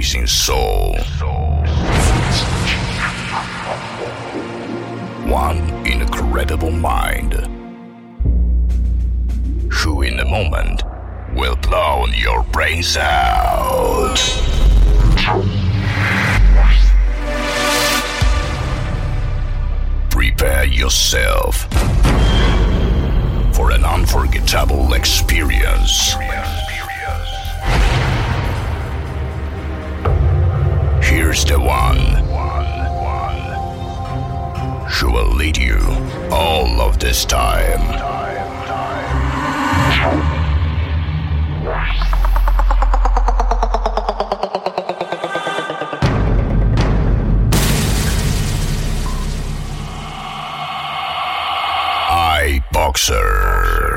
amazing soul. One incredible mind, who in a moment will blow your brains out. Prepare yourself for an unforgettable experience. Here's the one who will lead you all of this time. iBoxer.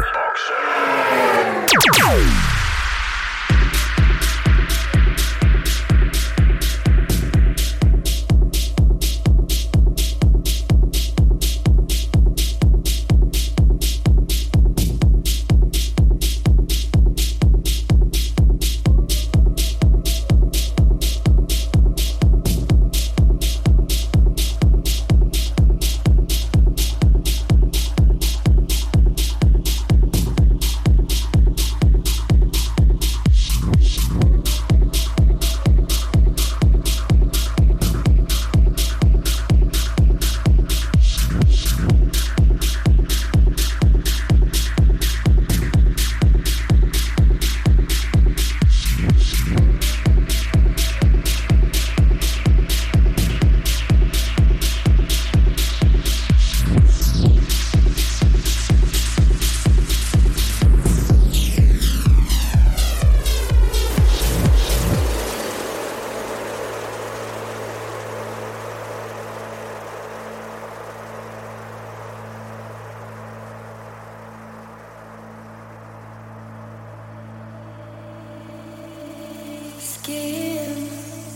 Skin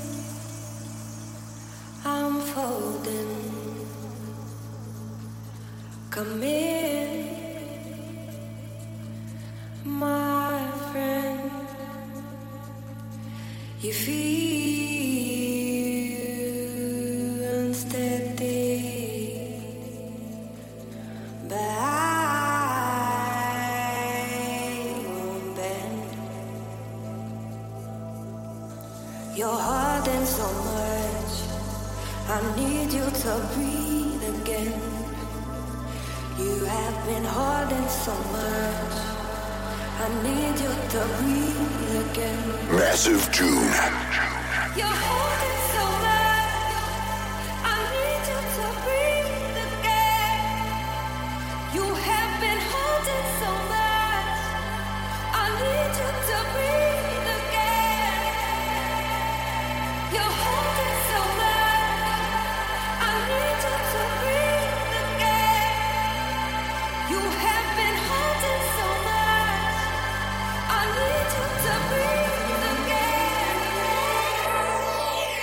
unfolding, come in, my friend. You feel unsteady, but I won't bend. You're hurting so much, I need you to breathe again. You have been hurting so much, I need you to breathe again. Massive June. You're hurting so much, I need you to breathe again. You have been hurting so much, I need you to breathe again. You're holding so much, I need you to breathe again. You have been holding so much, I need you to breathe again.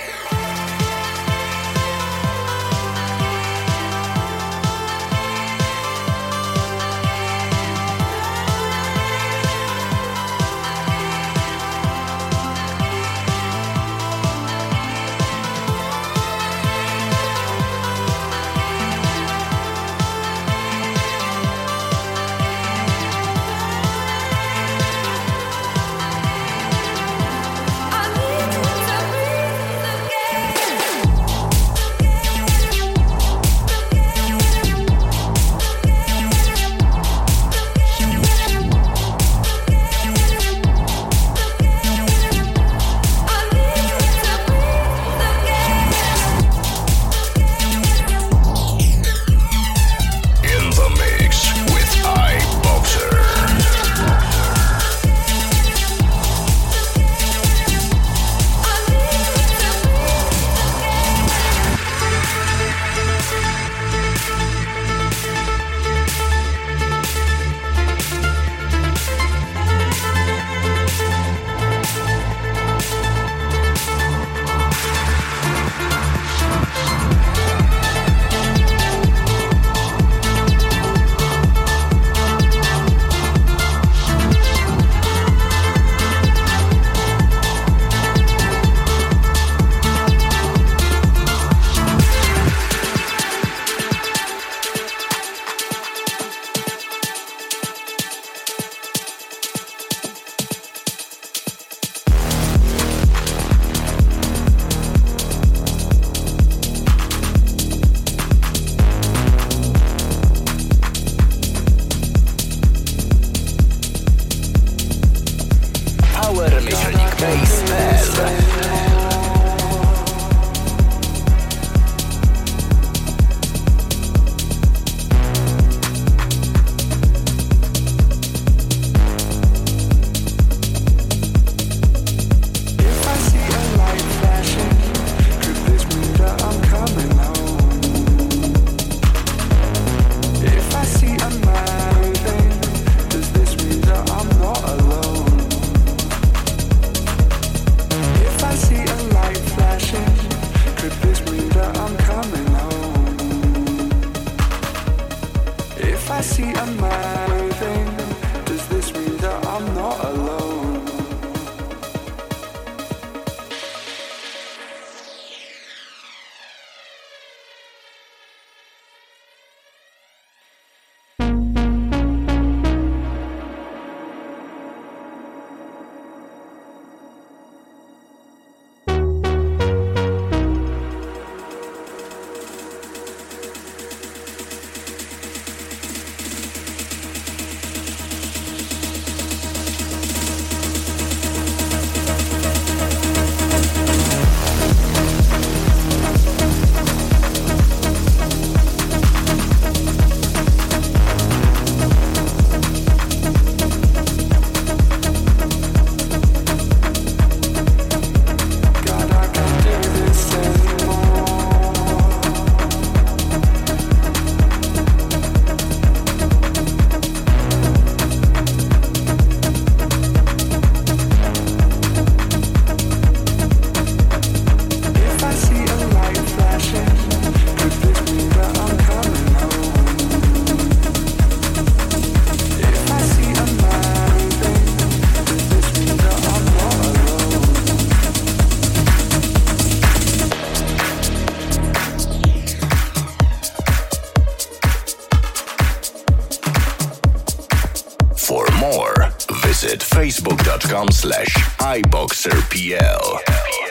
facebook.com/iboxerpl.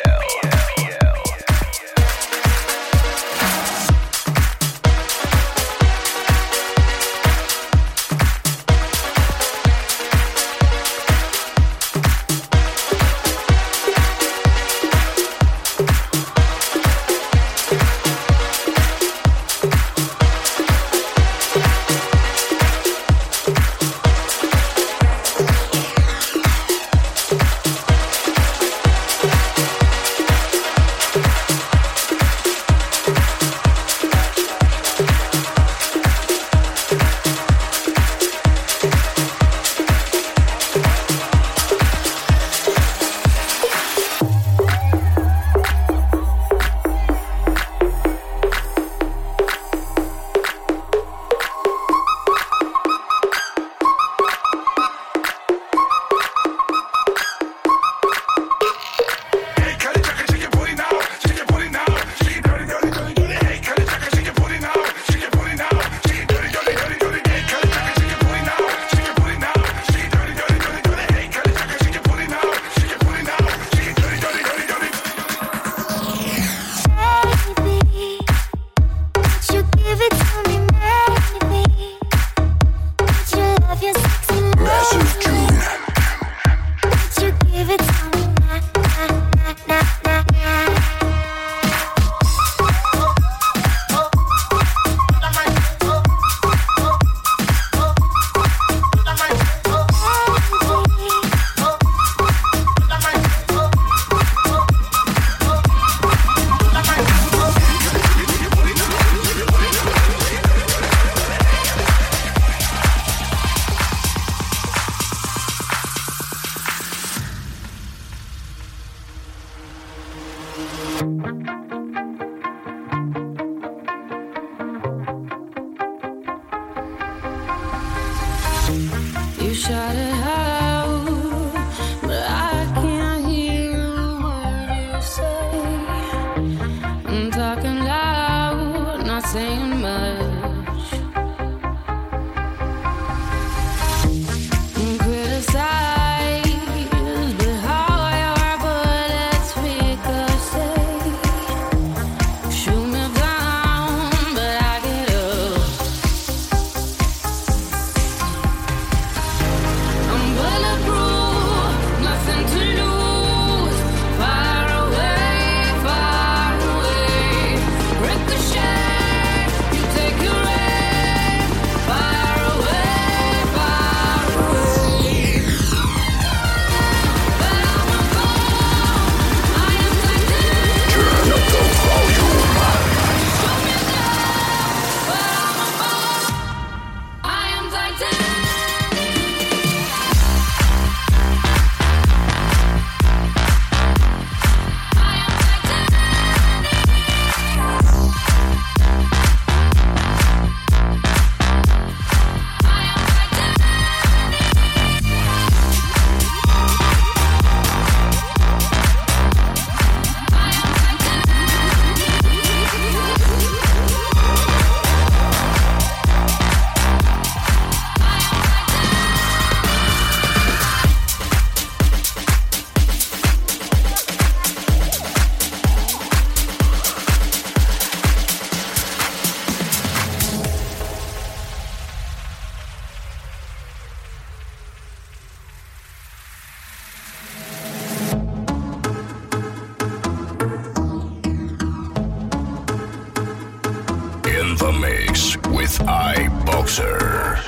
the mix with iBoxer.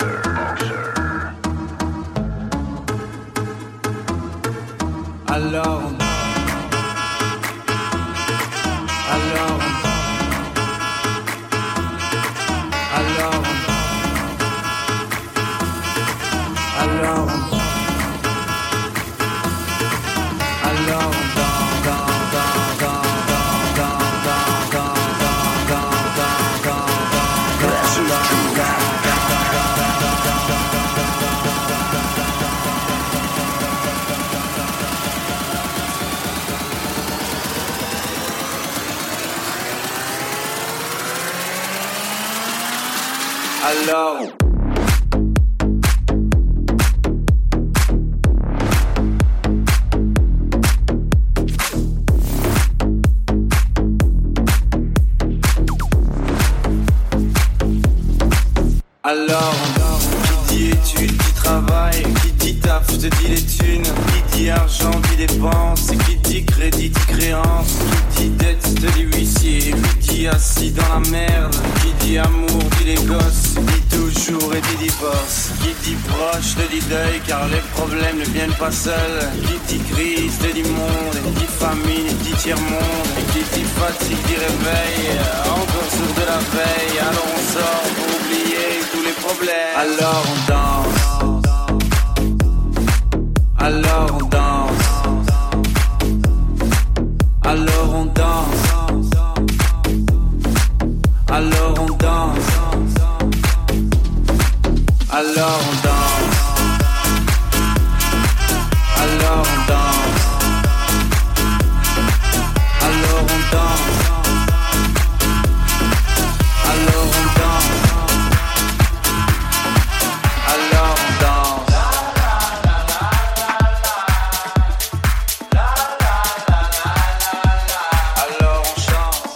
Alone. Alone. Alone. Alone. Alone. Alone. Alors, qui dit études, dit travail, qui dit taf, te dit les thunes, qui dit argent, dit dépenses, qui dit crédit, dit créance, qui dit dette, te dit huissier, qui dit assis dans la merde, qui dit amour, dit les gosses, dit toujours et dit divorce, qui dit proche, te dit deuil, car les problèmes ne viennent pas seuls, qui dit crise, te dit monde, qui dit famine, dit tiers-monde, et qui dit fatigue, dit réveil, encore sourd de la veille, alors on sort pour oublier tous les problèmes. Alors on danse, alors on danse, alors on danse, alors on danse, alors on danse, alors on danse, alors on danse, alors on danse. Alors on danse. Alors on chante.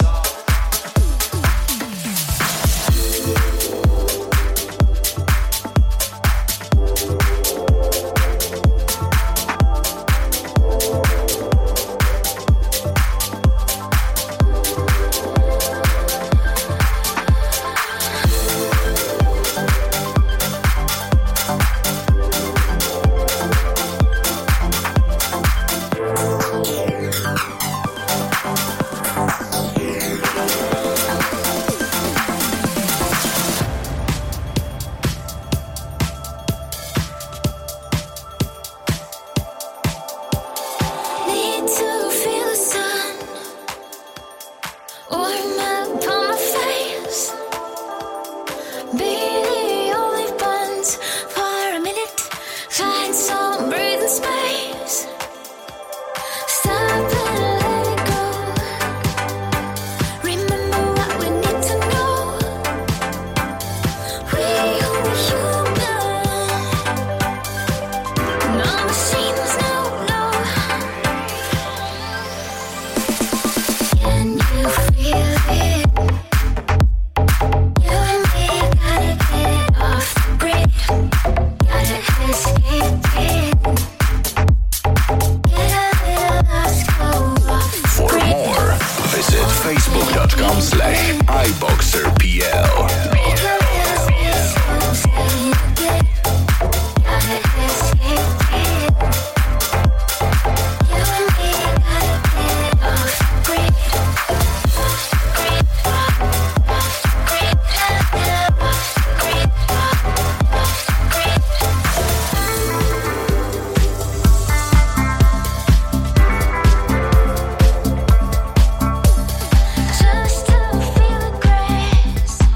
Just to feel the grace.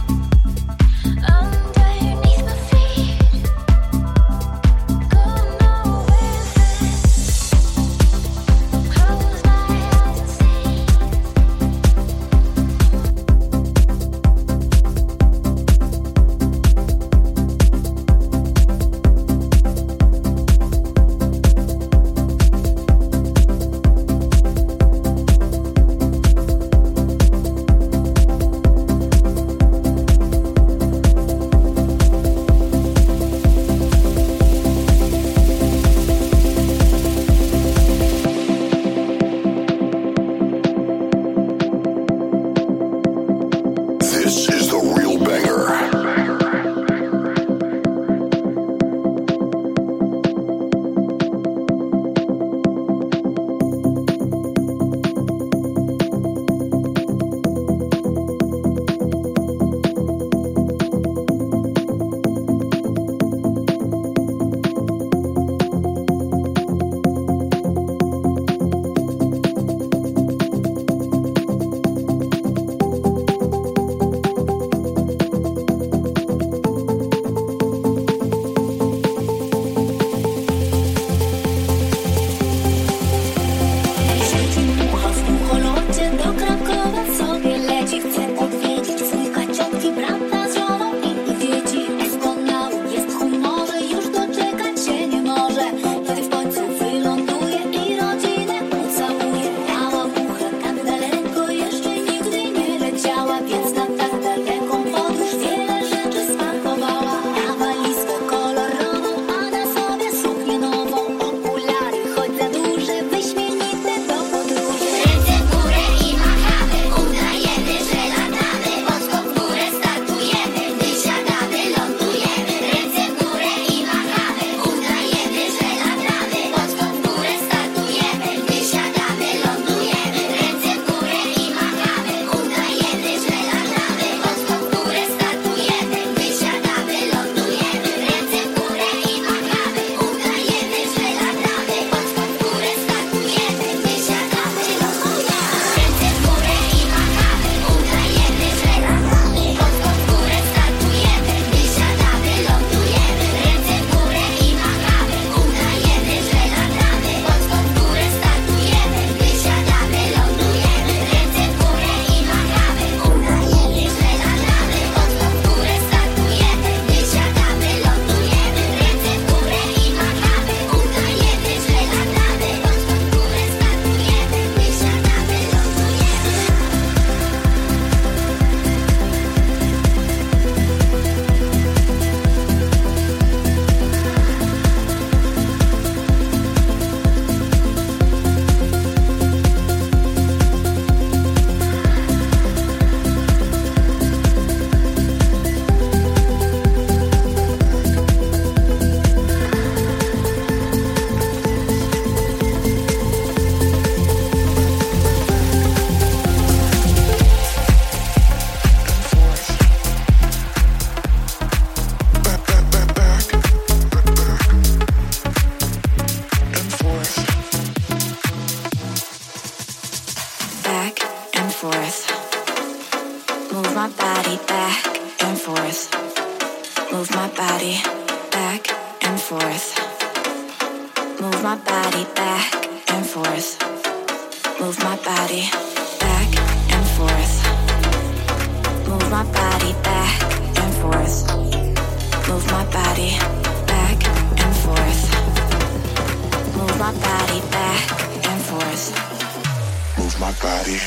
Move my body back and forth. Move my body back and forth. Move my body back and forth. Move my body back and forth. Move my body.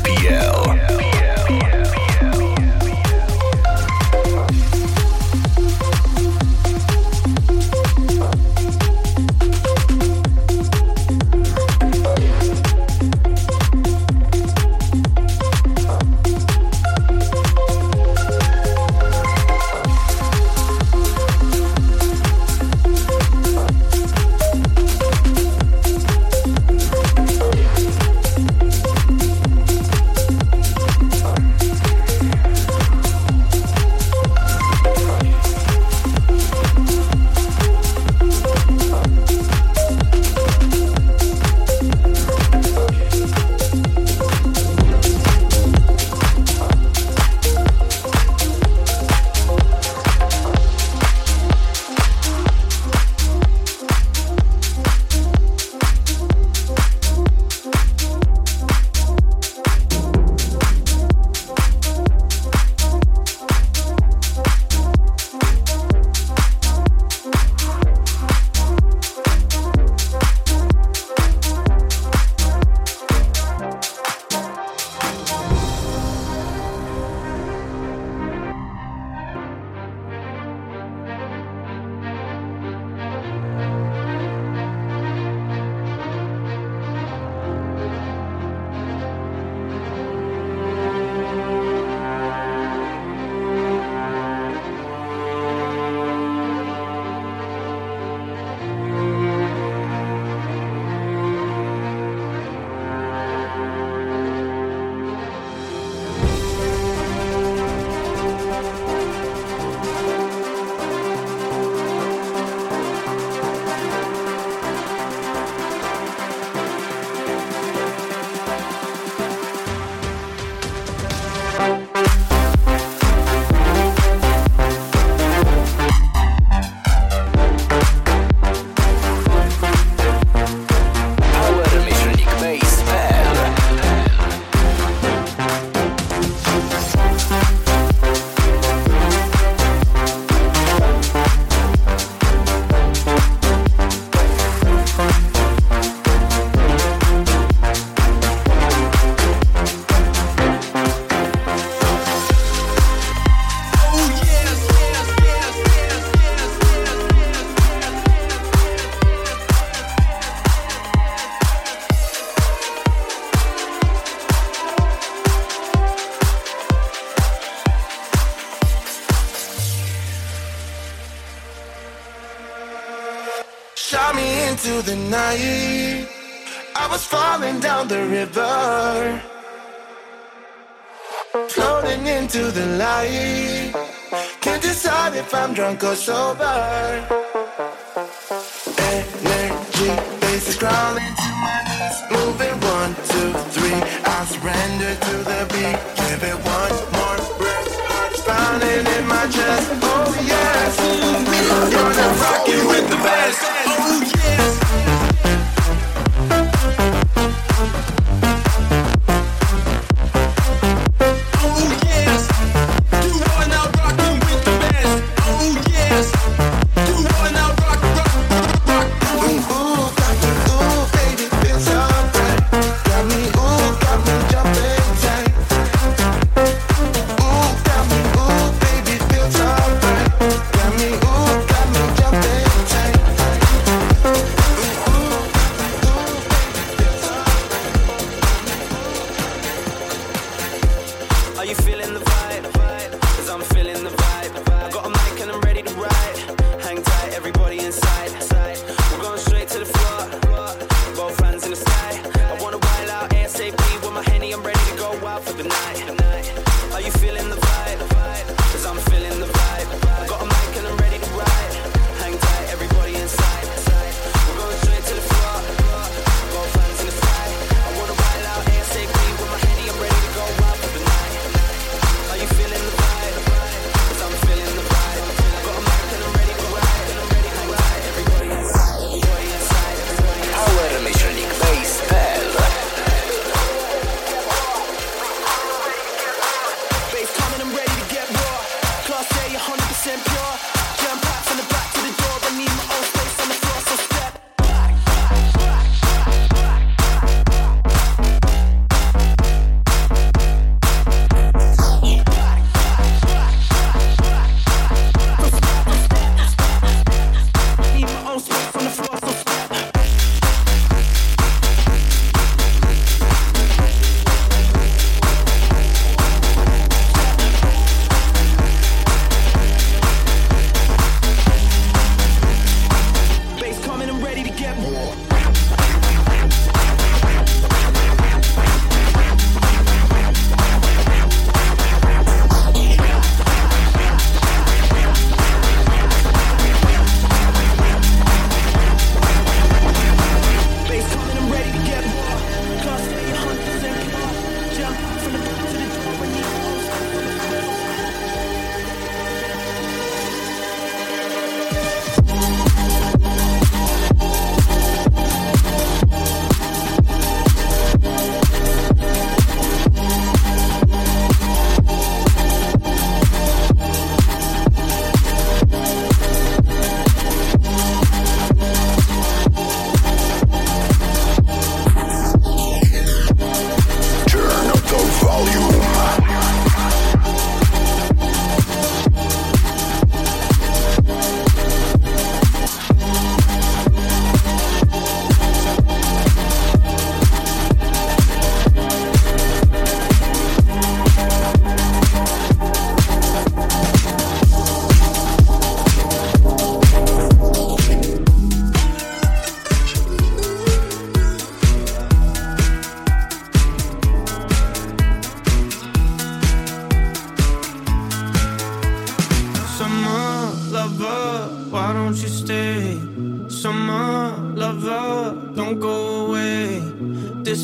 shot me into the night. I was falling down the river, floating into the light. Can't decide if I'm drunk or sober. Energy base is crawling to my knees, moving 1, 2, 3. I surrender to the beat. Give it one more breath. Heart's pounding in my chest. Oh yes, gonna rock you with the best. Oh yes. Coming, I'm ready to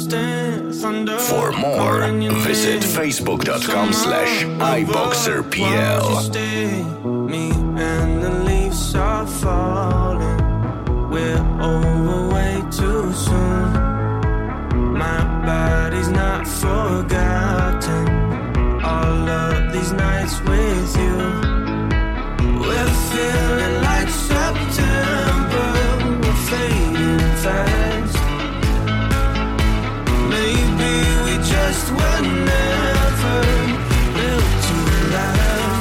For more, visit facebook.com/iboxerpl. Me and the leaves are falling. We're over way too soon. My body's not forgotten. All of these nights with you. We're feeling like September. We're fading fast. Maybe we just were never built to last.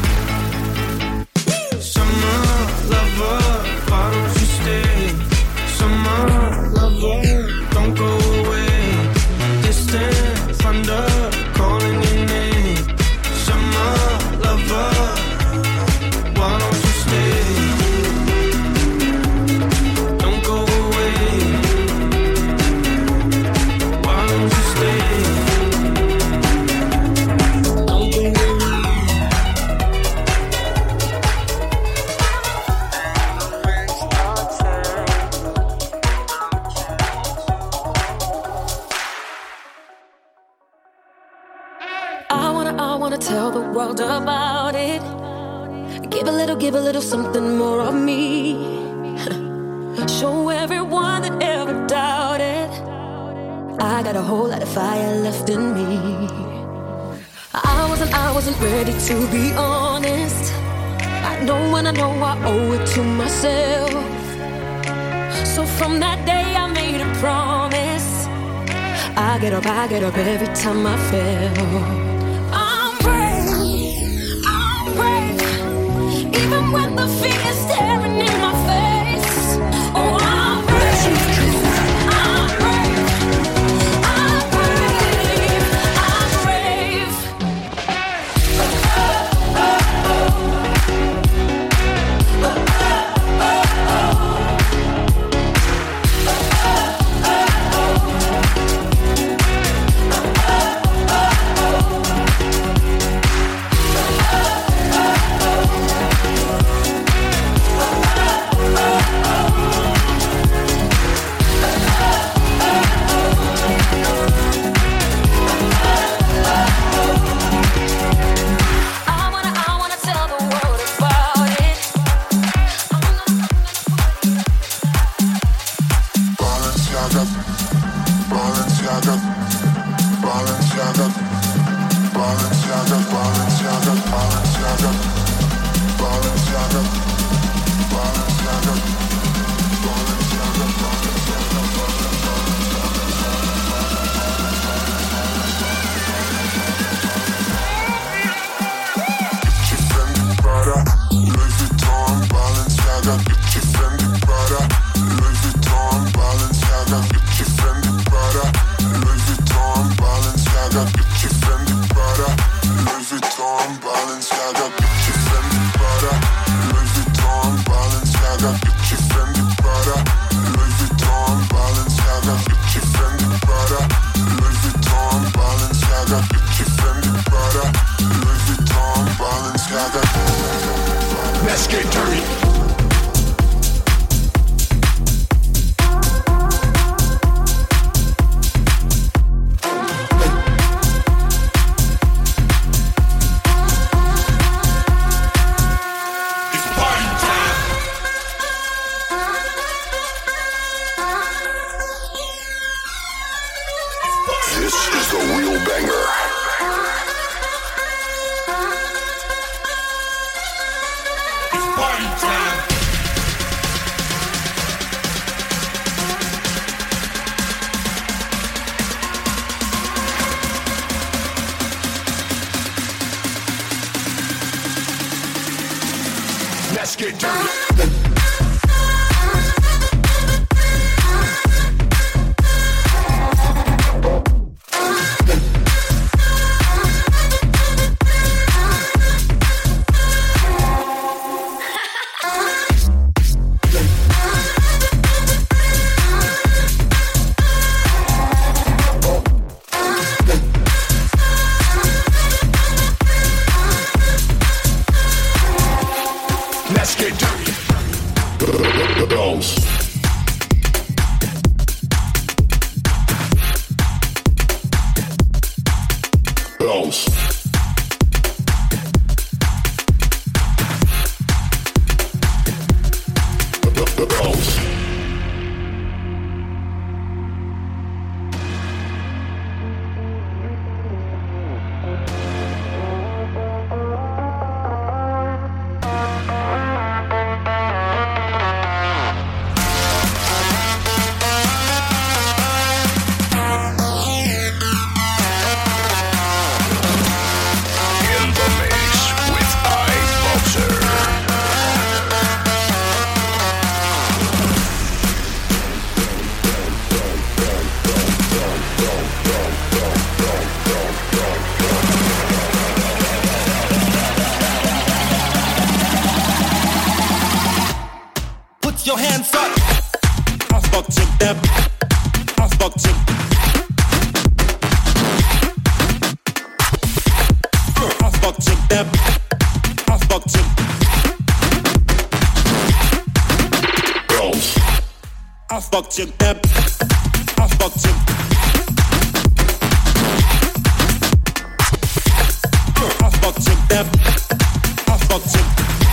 Summer lover, why don't you stay? Summer lover, don't go away. Distant thunder calling your name. Summer lover, why don't you stay? Don't go away. Why don't you stay? Don't go away. I wanna tell the world about it. Give a little something more of me. Show everyone that ever doubted. I got a whole lot of fire left in me. I wasn't ready to be honest. I know when I know I owe it to myself. So from that day I made a promise. I get up every time I fail. I'm brave, even when the fear is staring in my face. Oh, I'm brave, I'm brave, I'm brave, I'm brave. Let's get dirty. This is the real banger. Let's get dirty. Let's get dirty. Bounce. The bounce. Your hands up. Afboxing them. Afboxing. Afboxing them. Afboxing. Bounce. Afboxing them. Afboxing. Afboxing them. Afboxing.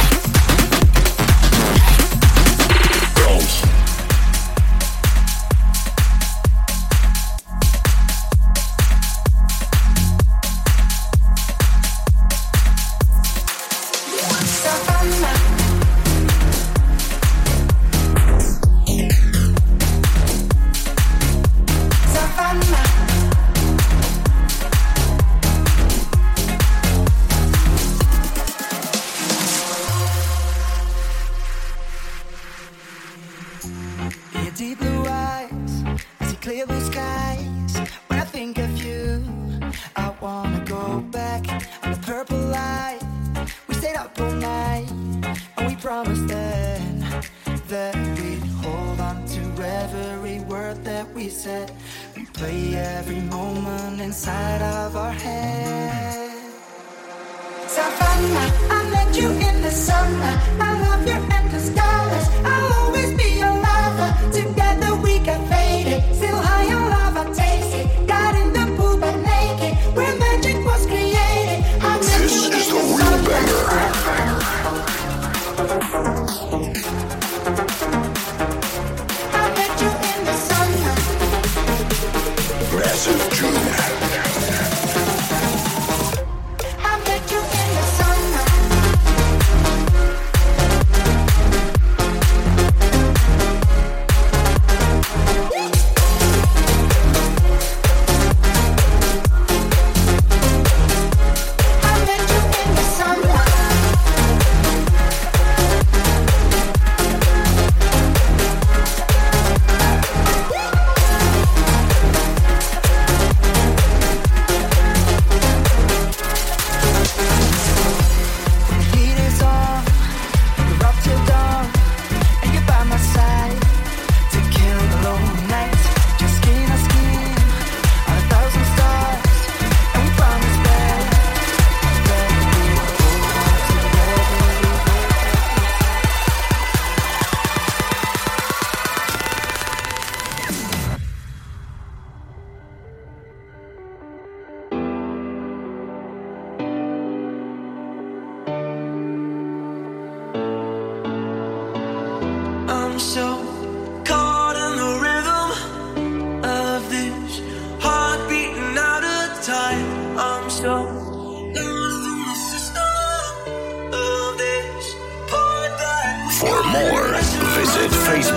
For more, visit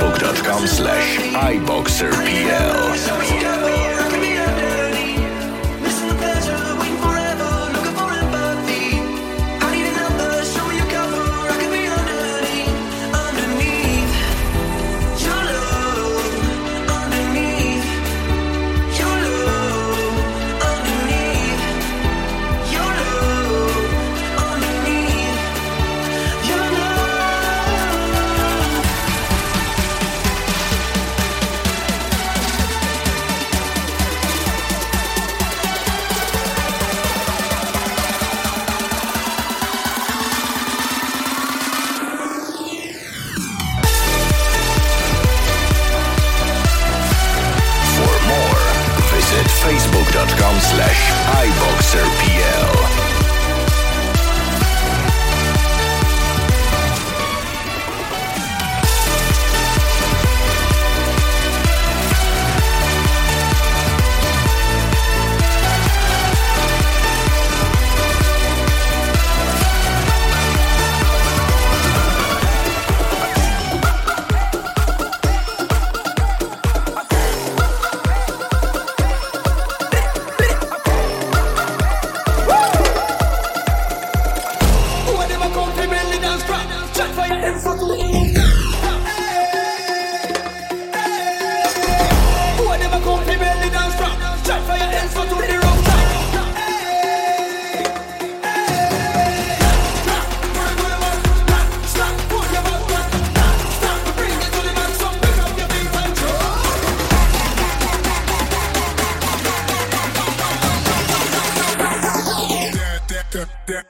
facebook.com/iboxerpl.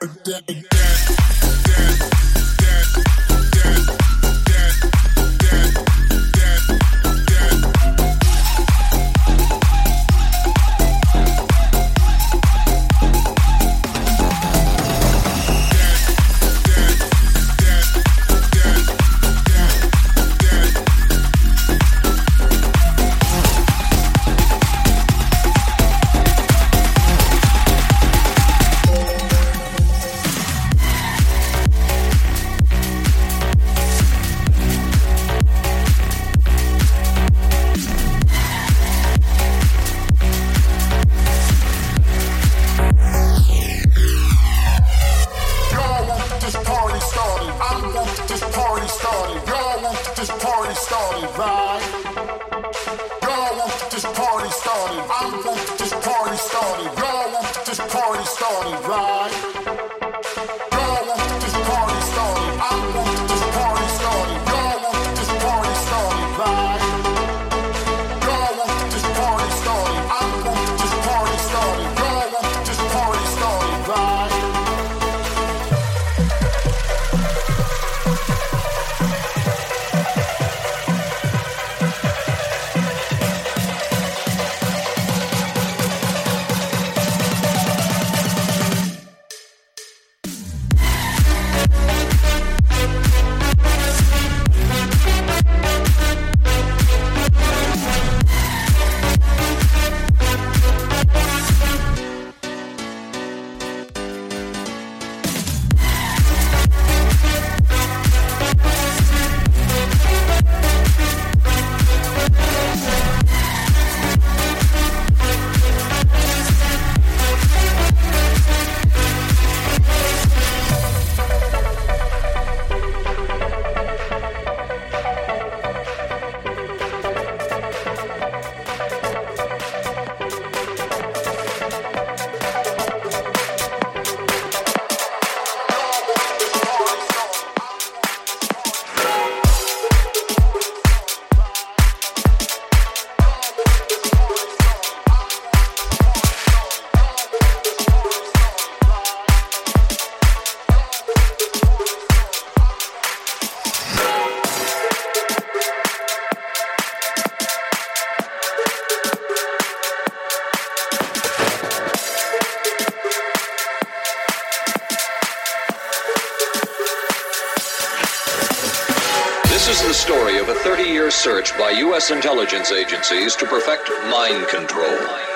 Search by U.S. intelligence agencies to perfect mind control.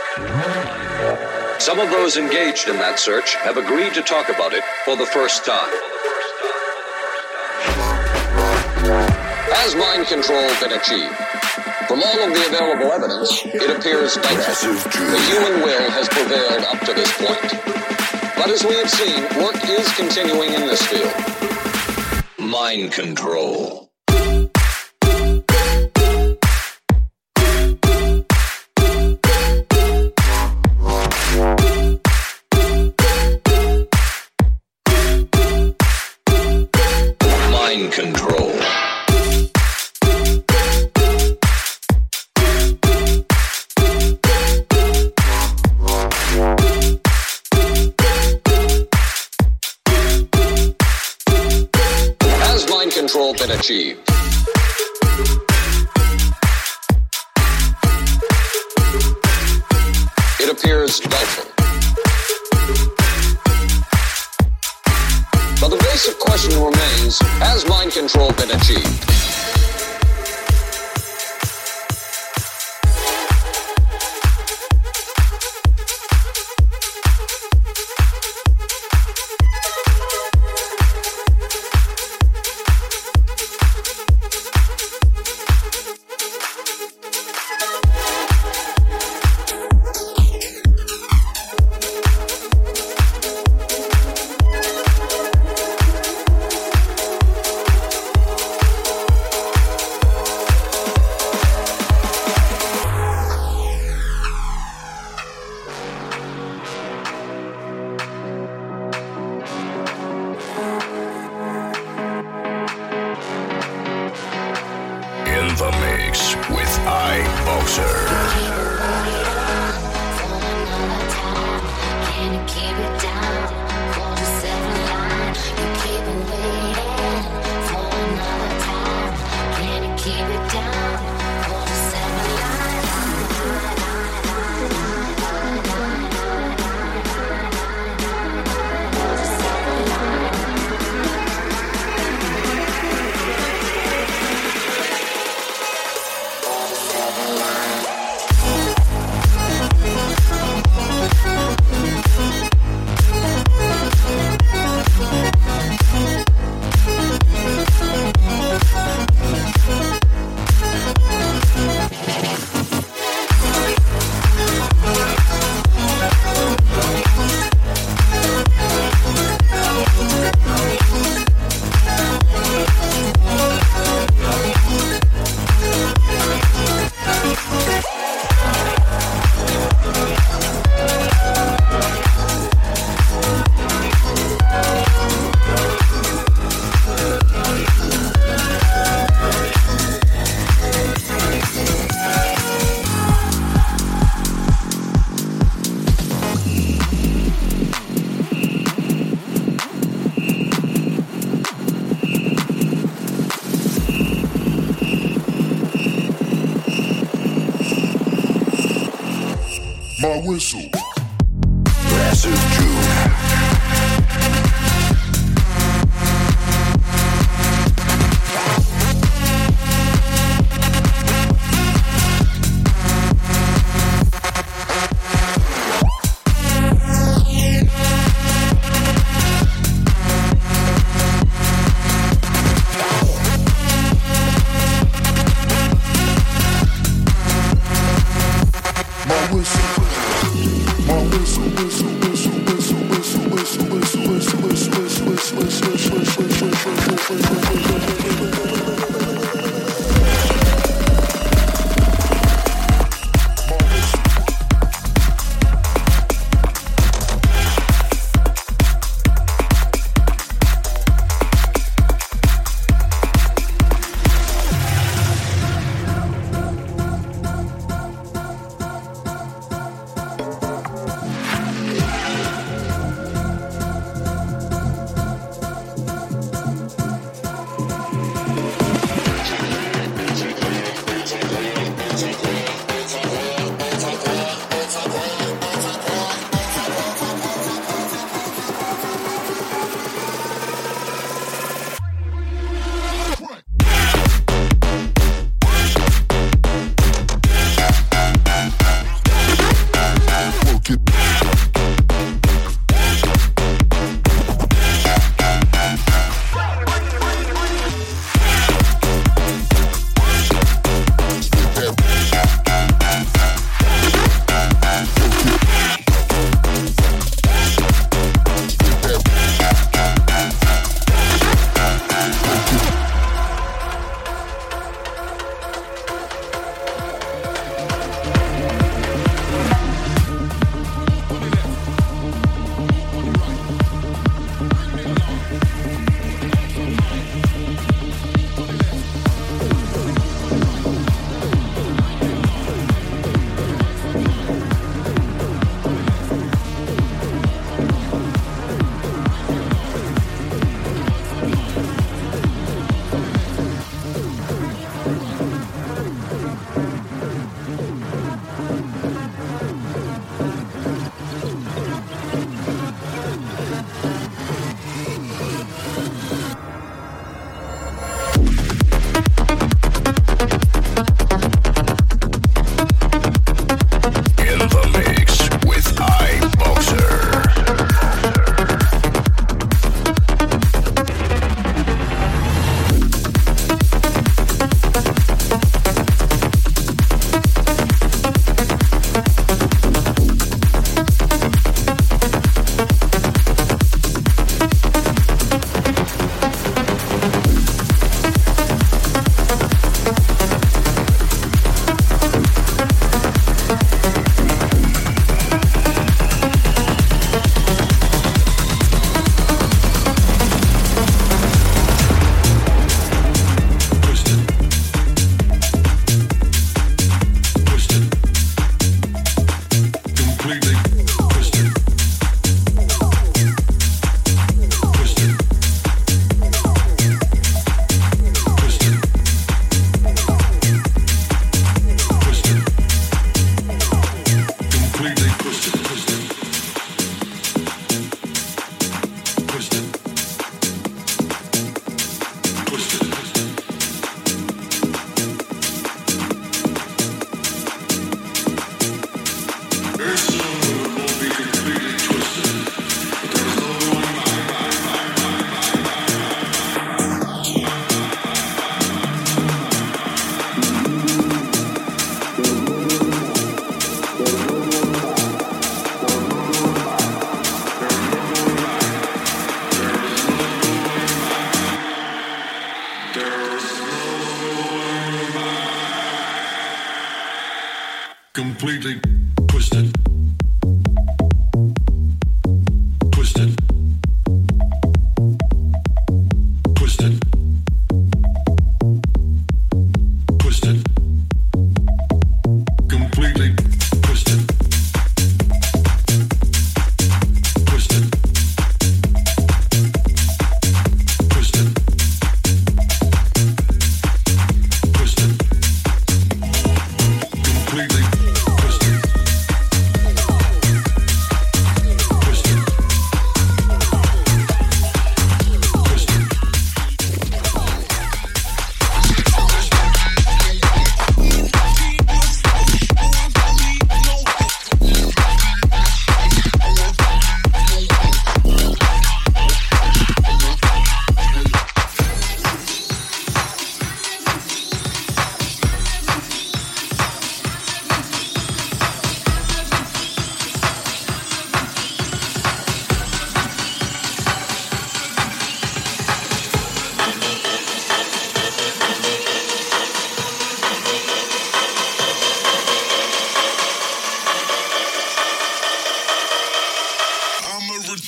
Some of those engaged in that search have agreed to talk about it for the first time. Has mind control been achieved? From all of the available evidence, it appears doubtful. The human will has prevailed up to this point. But as we have seen, work is continuing in this field. Mind control. Control. Has mind control been achieved? It appears doubtful. But the basic question remains, has mind control been achieved? The mix with iBoxer. Can you keep it down? Call yourself my whistle. Massive Jude.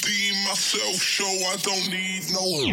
redeem myself, so I don't need no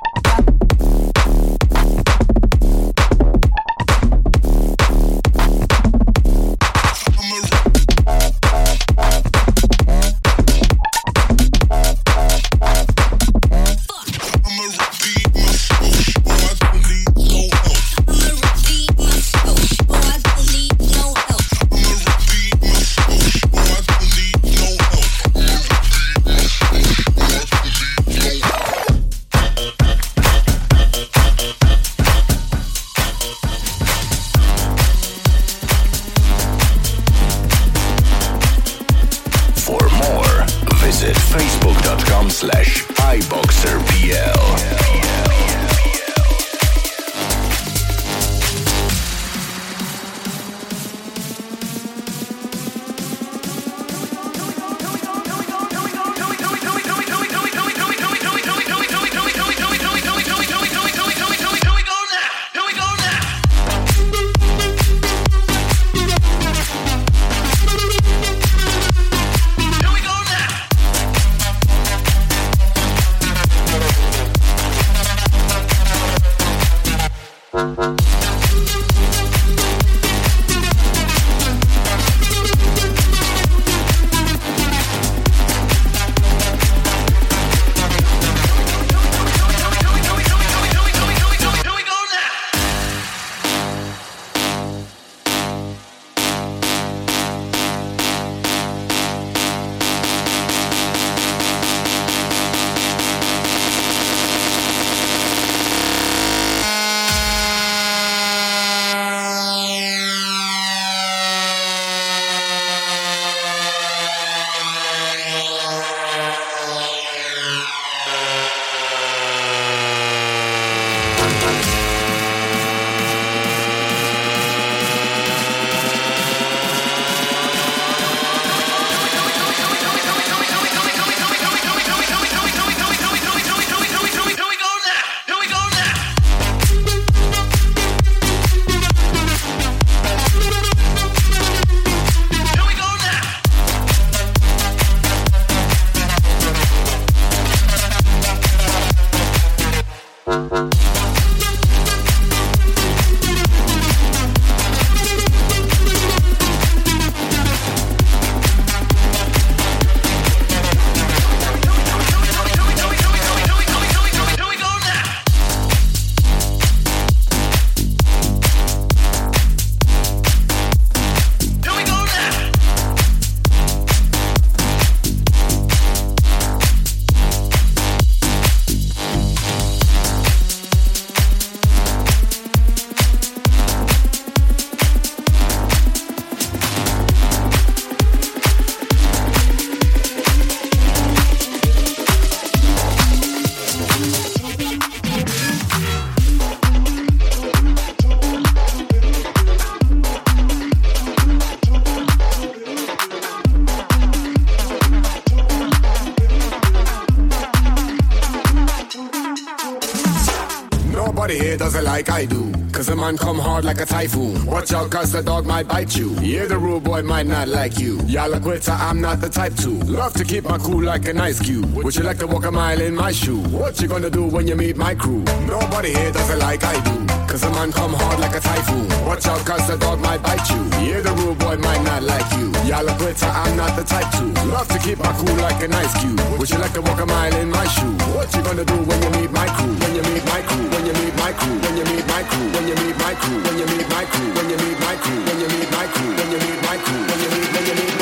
like I do. Cause a man come hard like a typhoon. Watch out cause the dog might bite you. Yeah, the rude boy might not like you. Y'all a quitter, I'm not the type to. Love to keep my cool like an ice cube. Would you like to walk a mile in my shoe? What you gonna do when you meet my crew? Nobody here does it like I do. Cause a man come hard like a typhoon. Watch out cause the dog might bite you. Yeah, the rude boy might not like you. Y'all a quitter, I'm not the type to. Love to keep my cool like an ice cube. Would you like to walk a mile in my shoe? What you gonna do when you meet my crew? When you meet my crew? When you meet my crew? When you meet my crew? When you meet my crew? When you meet my crew? When you meet my crew? When you meet my crew? When you meet my crew? When you meet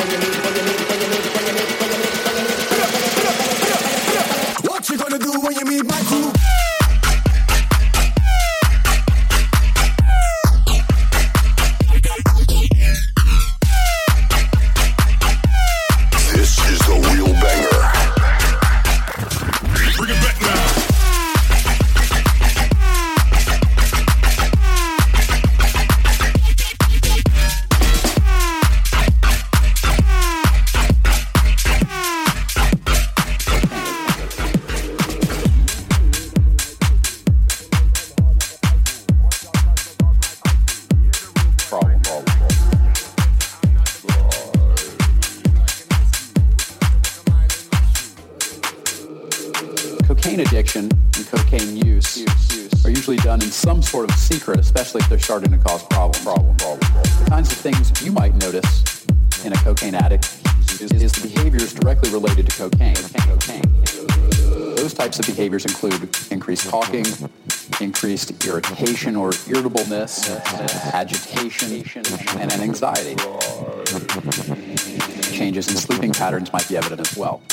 what you gonna do when you meet my crew? Cocaine addiction and cocaine use are usually done in some sort of secret, especially if they're starting to cause problems. The kinds of things you might notice in a cocaine addict is the behaviors directly related to cocaine. Those types of behaviors include increased talking, increased irritation or irritableness, agitation, and anxiety. Changes in sleeping patterns might be evident as well.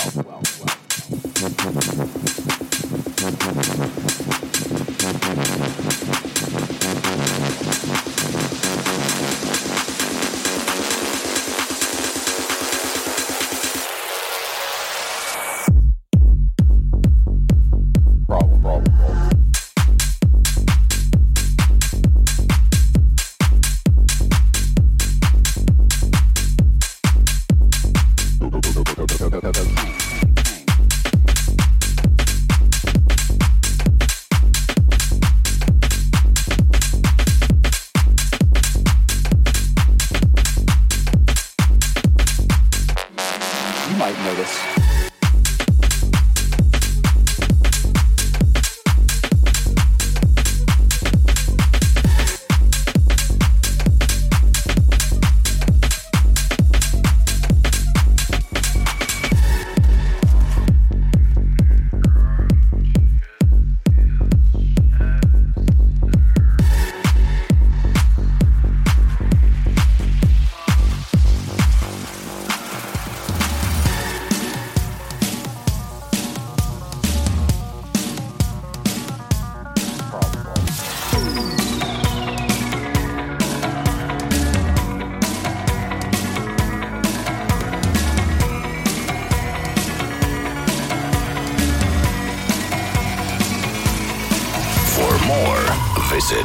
Visit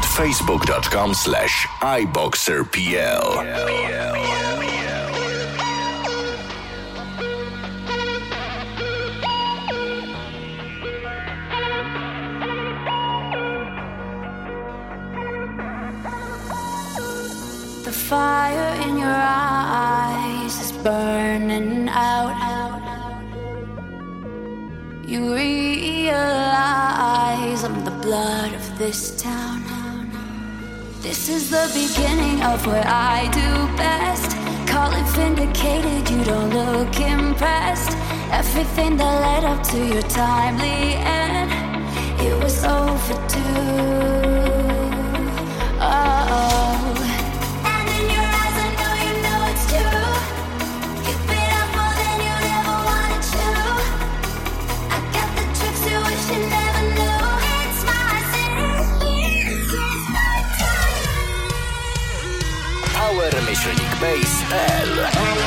facebook.com/iboxerpl. The fire in your eyes is burning out. You realize I'm the blood of this town. This is the beginning of what I do best. Call it vindicated, you don't look impressed. Everything that led up to your timely end, it was overdue. Oh. And in your eyes I know it's true. You've been up more than you ever wanted to. I got the tricks you wish you never knew. It's my city, it's my time. Power-Base.pl.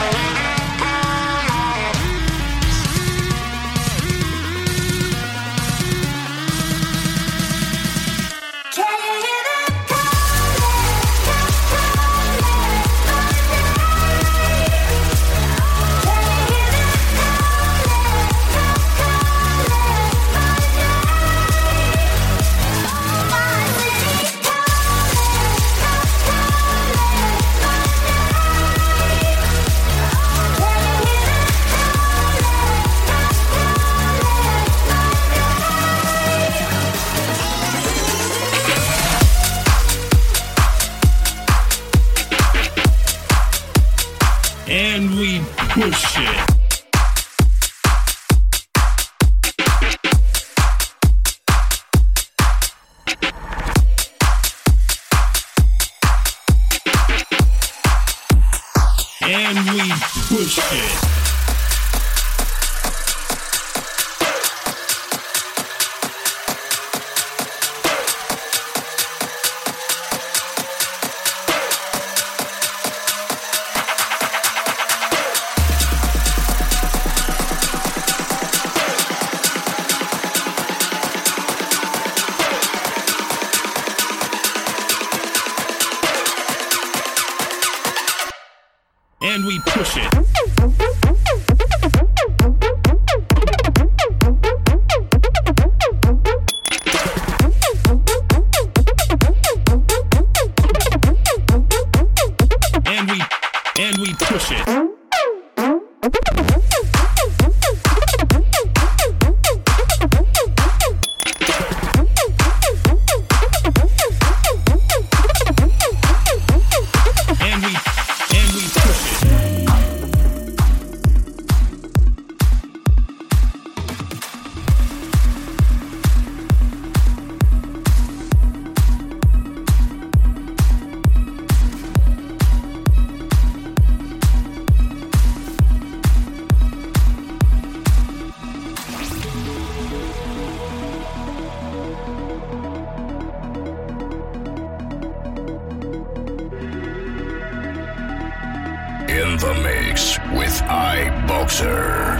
And we push it. And we push it. And we push it. with iBoxer.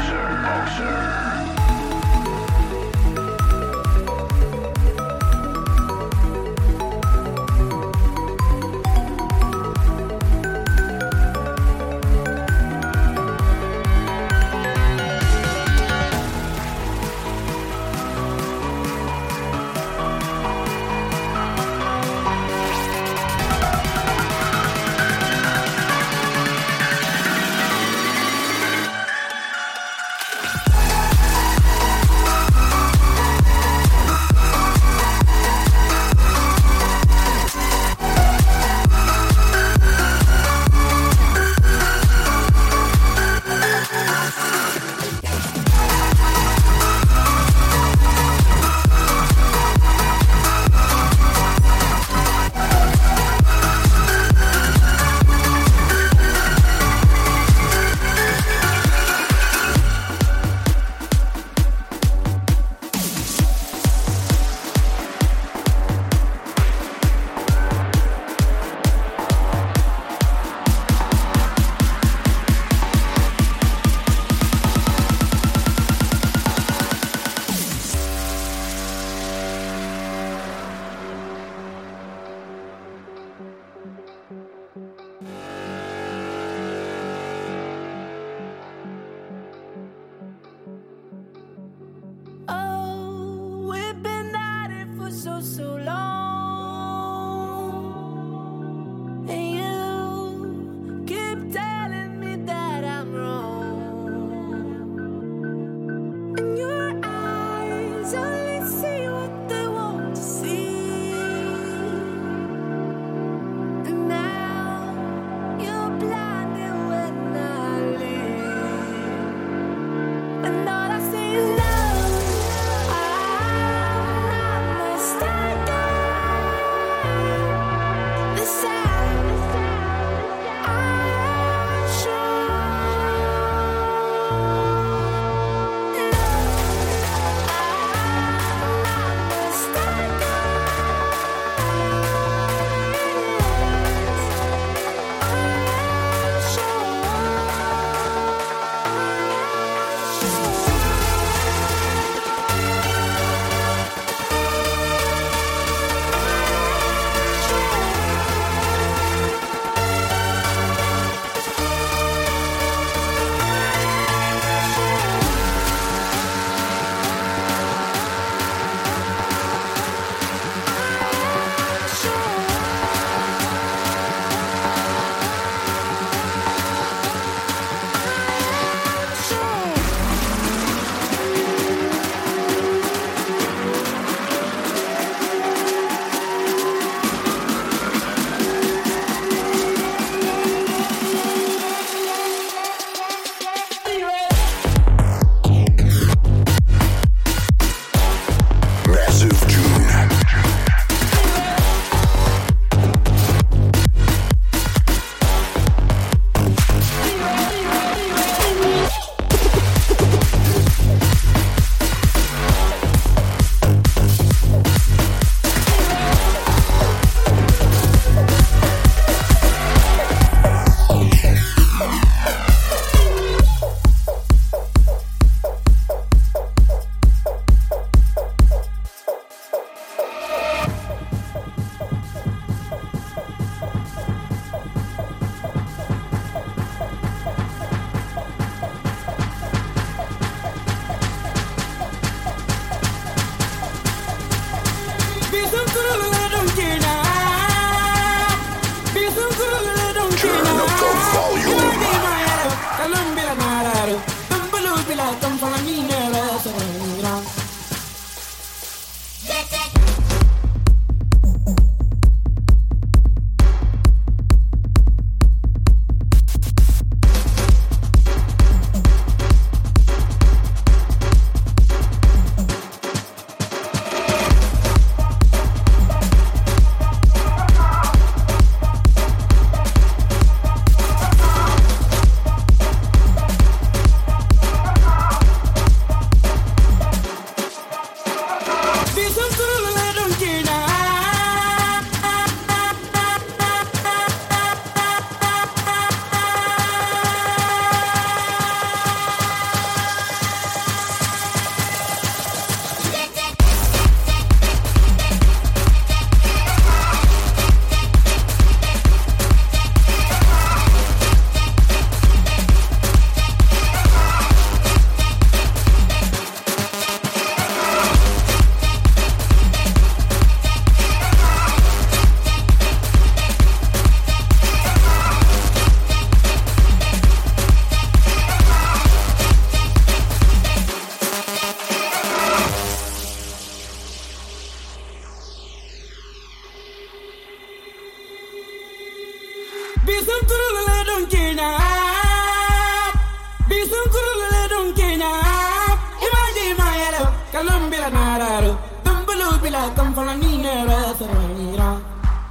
I come from a minero, Ferranira.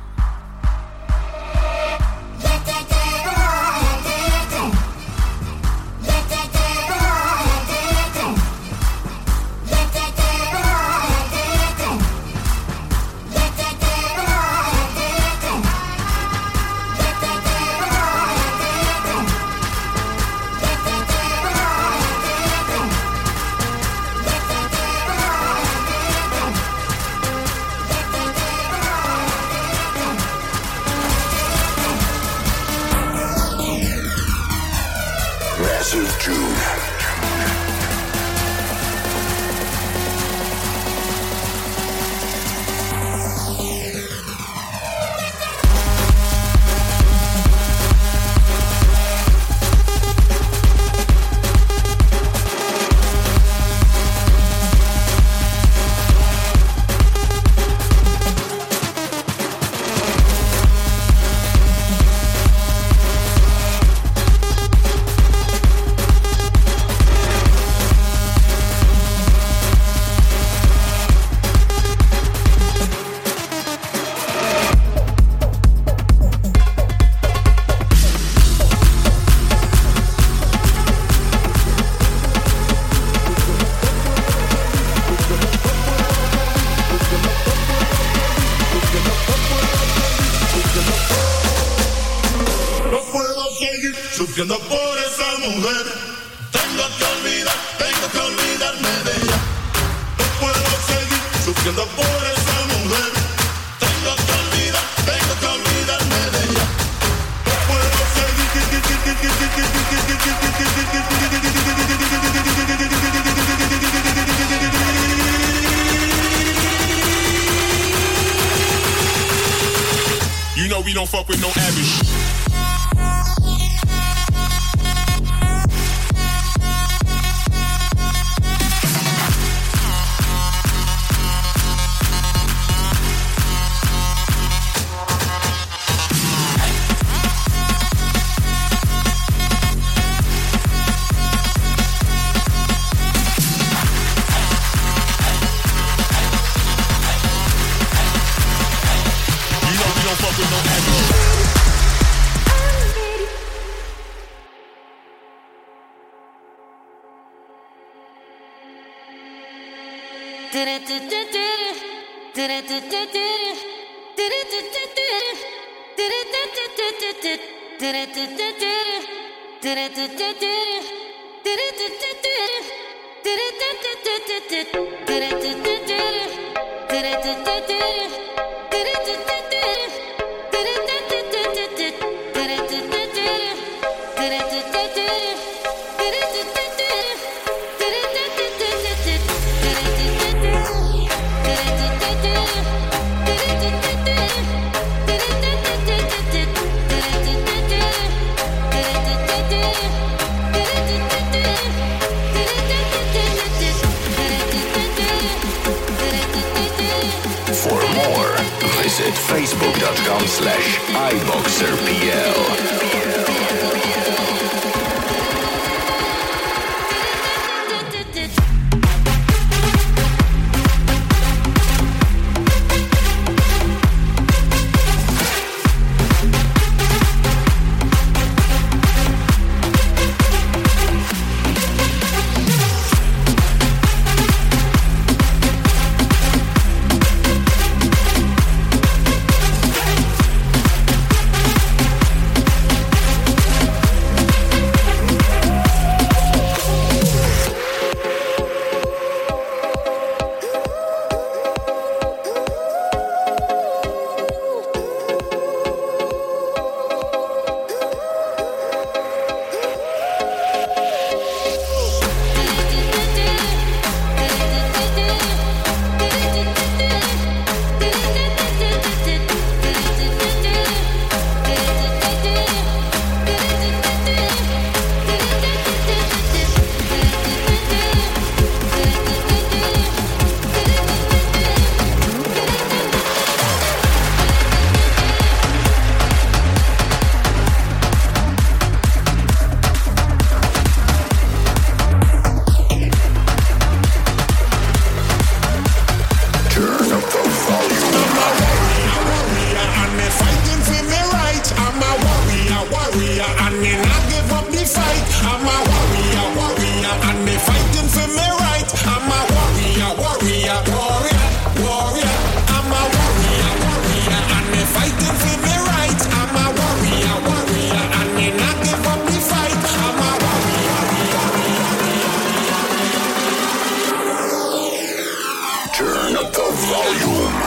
Massive June. Sufriendo por esa mujer, tengo que olvidarme de ella. No puedo seguir sufriendo por esa mujer, tengo que olvidarme de ella. No puedo seguir. You know we don't fuck with no average. Facebook.com/iBoxerPL. volume.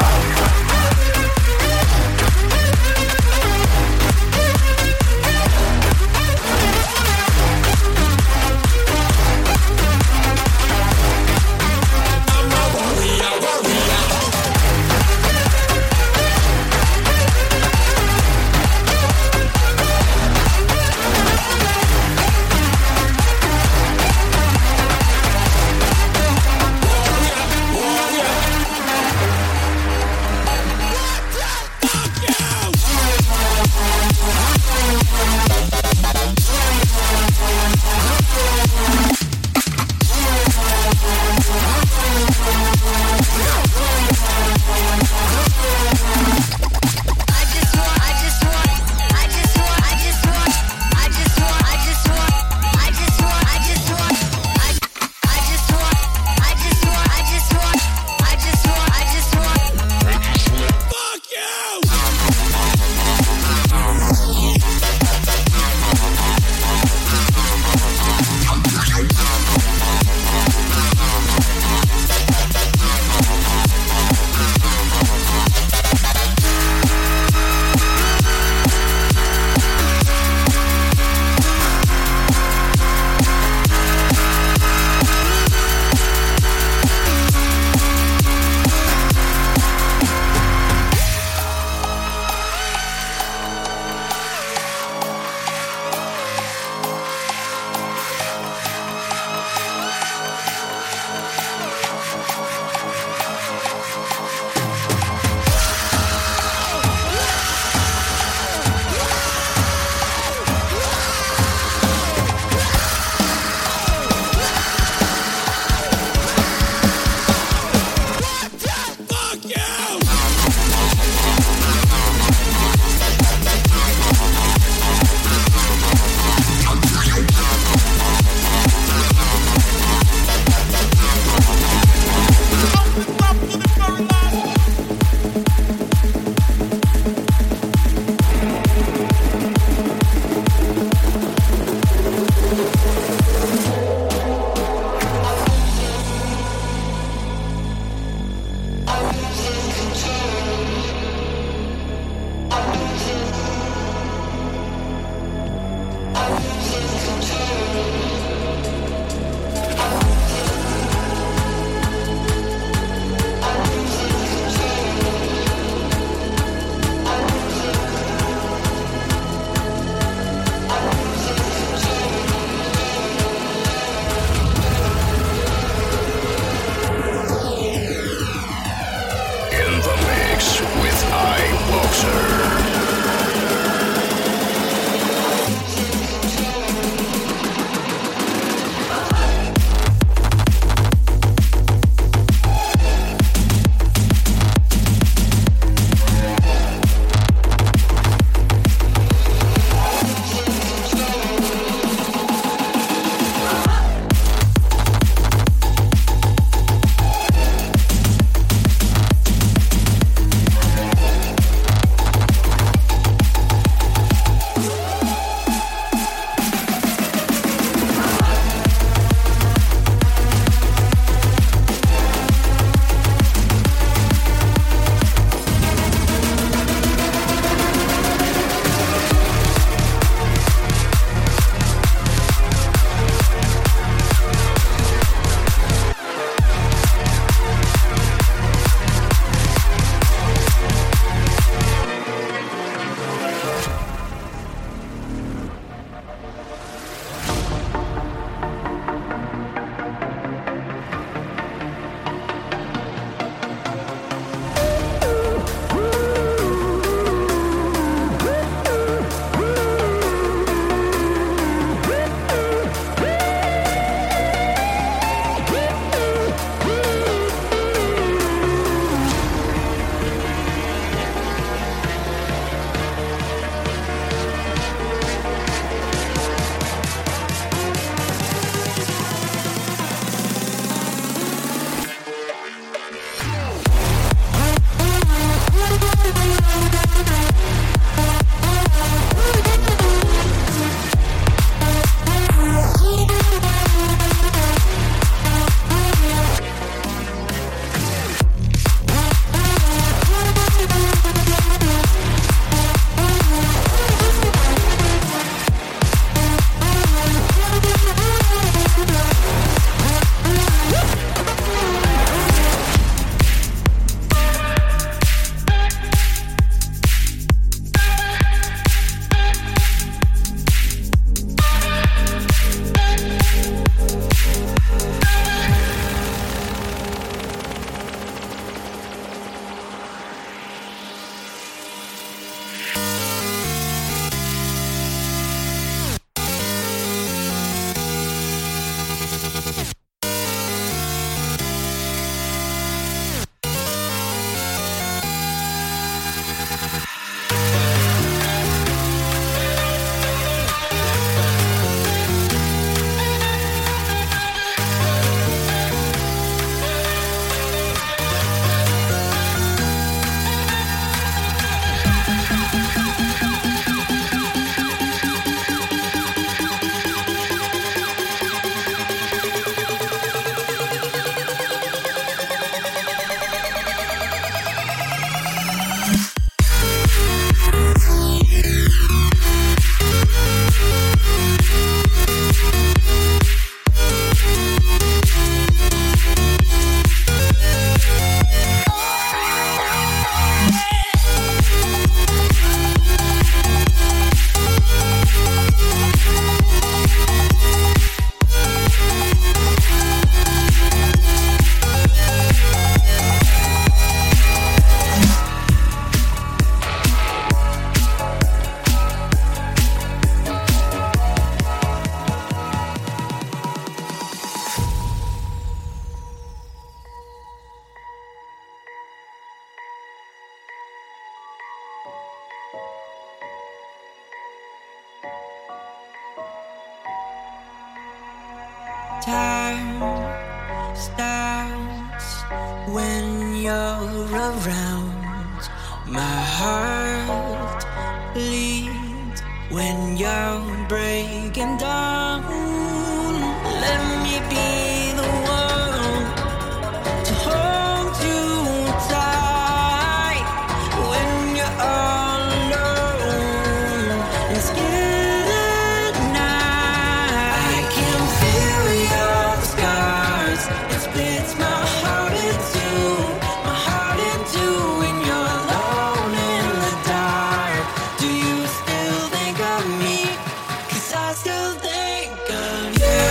stops when you're around. My heart bleeds when you're breaking down. Let me be the one to hold you tight when you're all alone and scared at night. I can feel your scars. It splits my heart in two when you're alone in the dark. Do you still think of me? 'Cause I still think of you.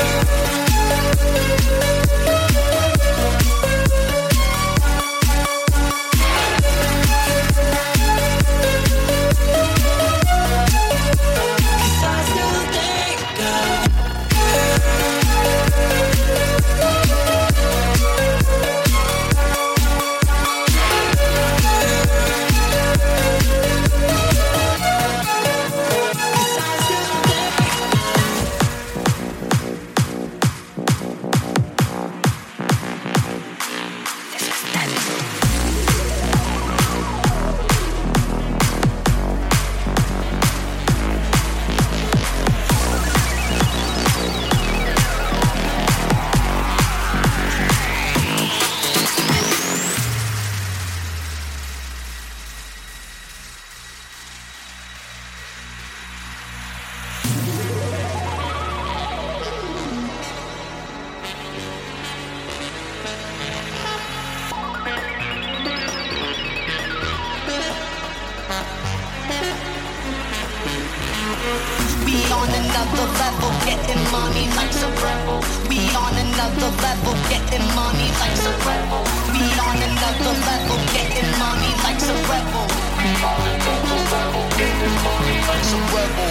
We on another level, getting money like some rebel. We on another level, getting money like some rebel. We on another level, getting money like some rebel. We on another level, getting money like some rebel.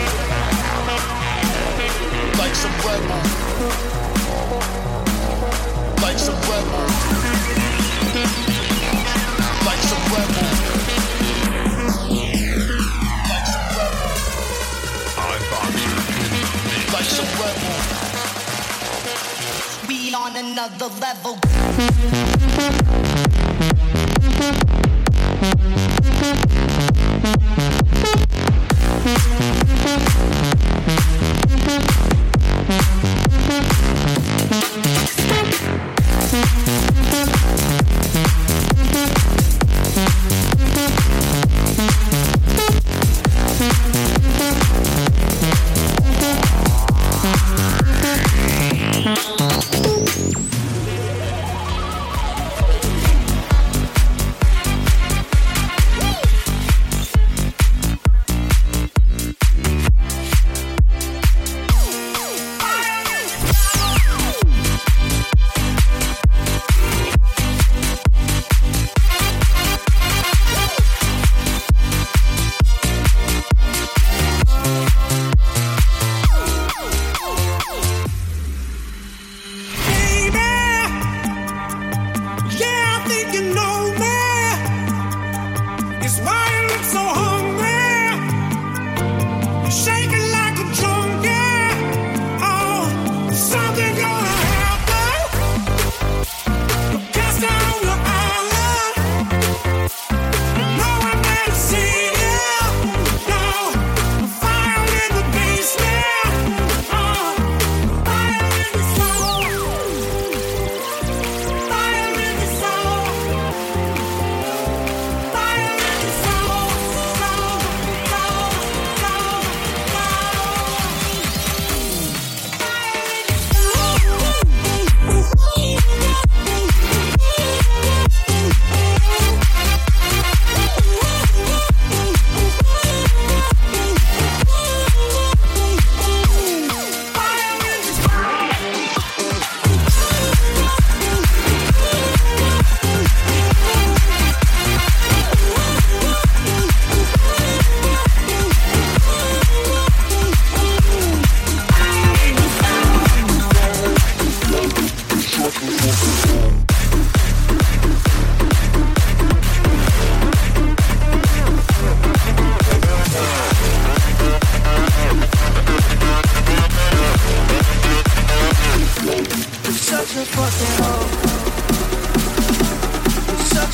Like some rebel. Like some rebel. Like some rebel. Like some rebel. We on another level.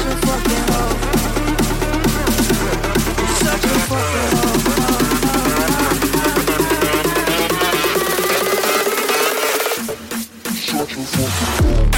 a fucking hoe. You're such a fucking hoe. Such a fucking hoe.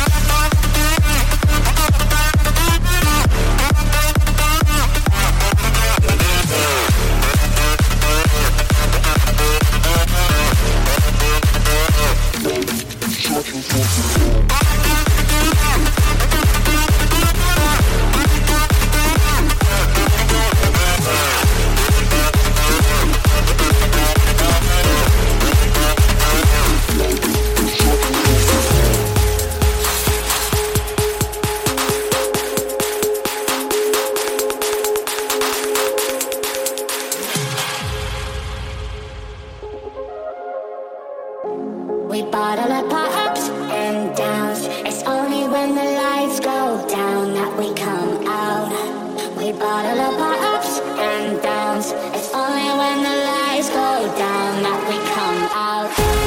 We bottle up our ups and downs. It's only when the lights go down that we come out. We bottle up our ups and downs. It's only when the lights go down that we come out.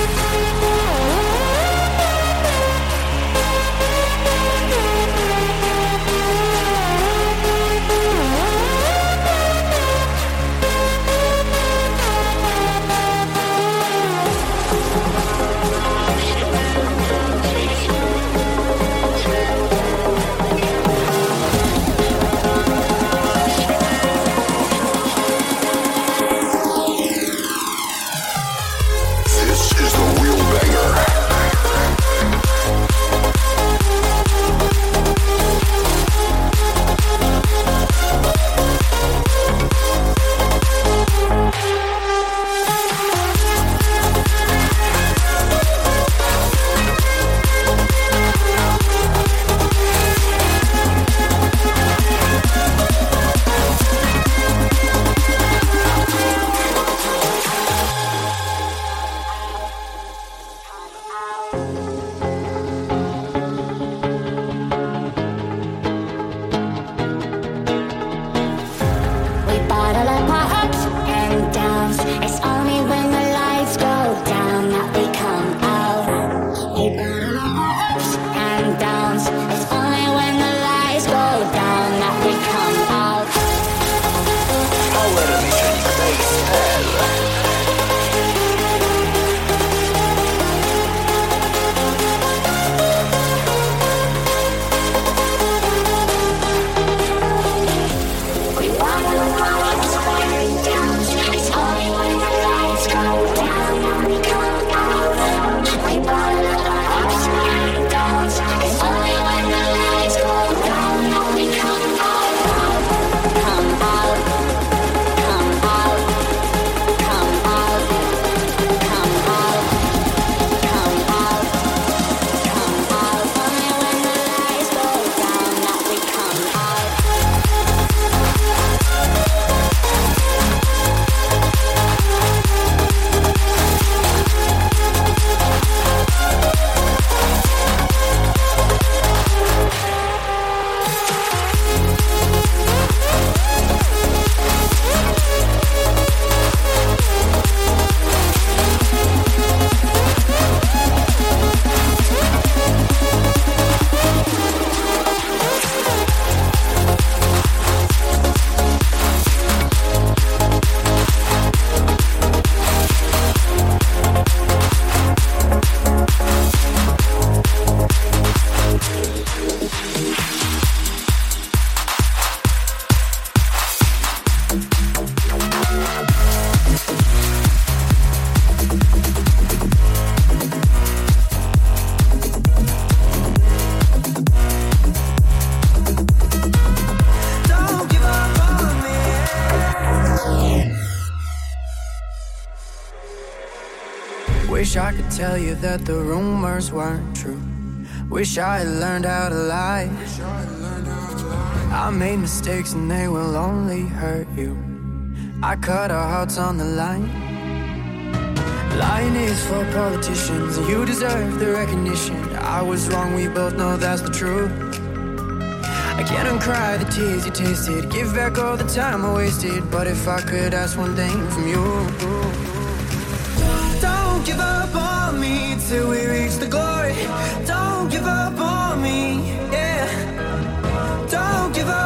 Wish I could tell you that the rumors weren't true. Wish I had learned how to lie. I made mistakes and they will only hurt you. I cut our hearts on the line. Lying is for politicians, and you deserve the recognition. I was wrong, we both know that's the truth. I can't uncry the tears you tasted, give back all the time I wasted. But if I could ask one thing from you, don't give up on me till we reach the glory. Don't give up on me, yeah. Don't give up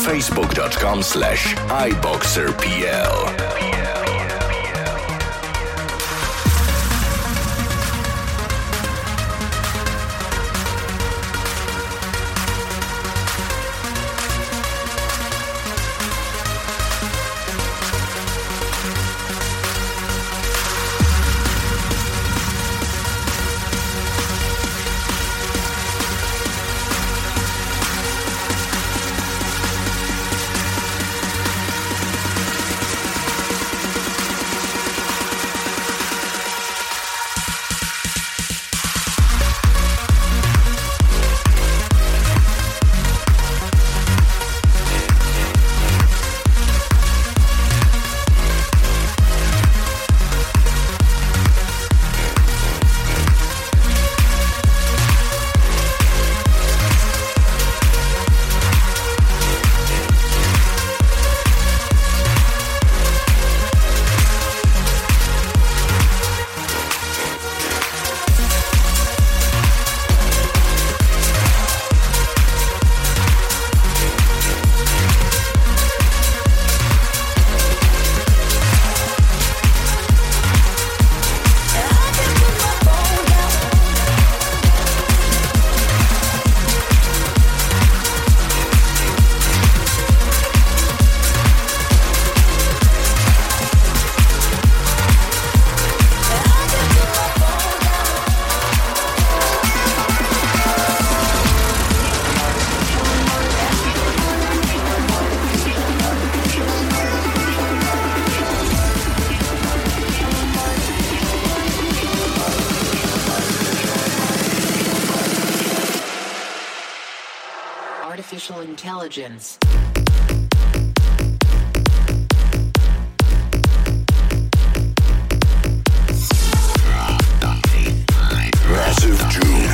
facebook.com/iboxerpl. Artificial intelligence. Massive June.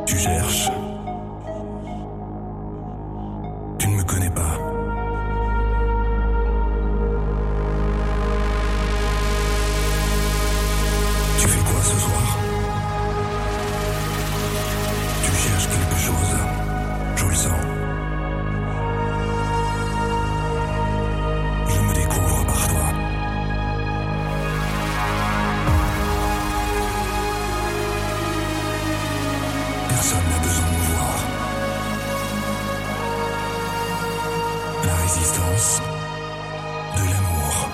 Tu cherches. Tu ne me connais pas. Tu fais quoi ce soir? Tu cherches quelque chose. Je le sens. Je me découvre par toi. Personne n'a besoin de me voir. La résistance de l'amour.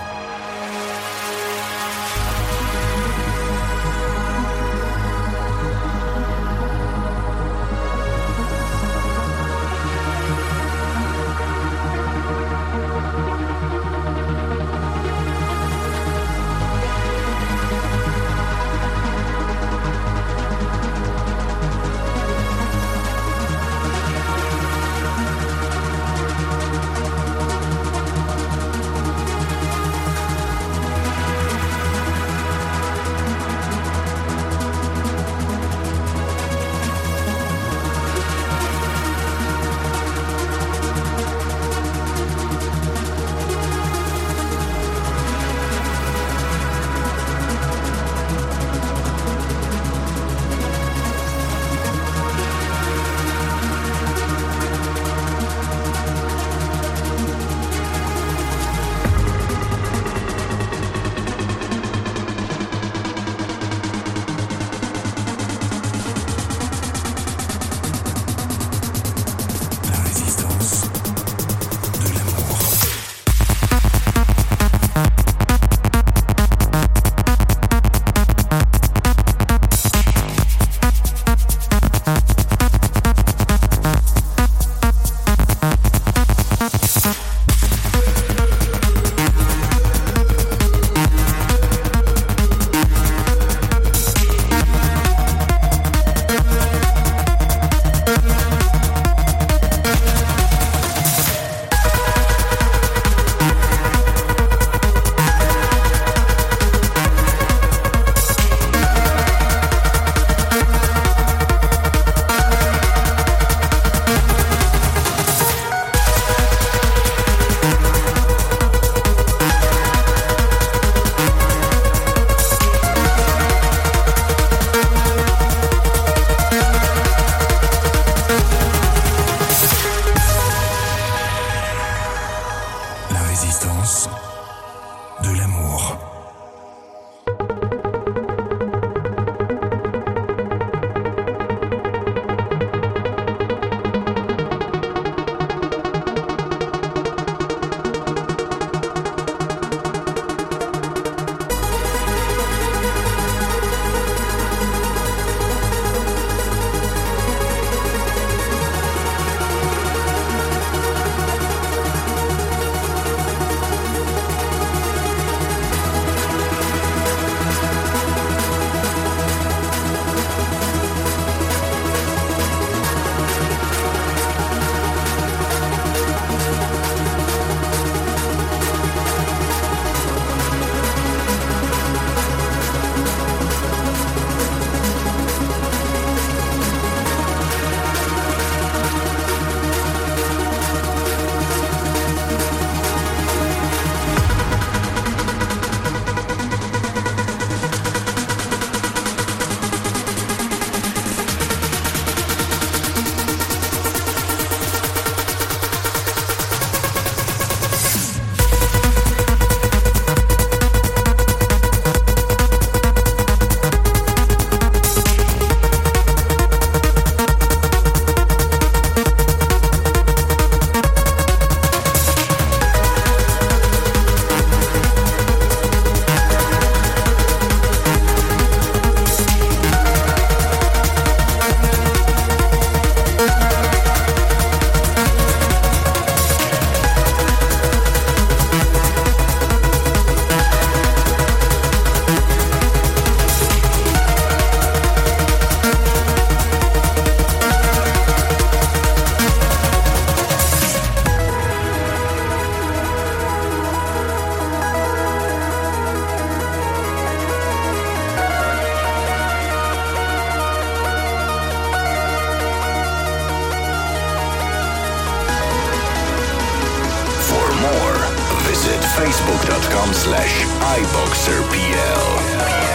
Facebook.com/iBoxerPL.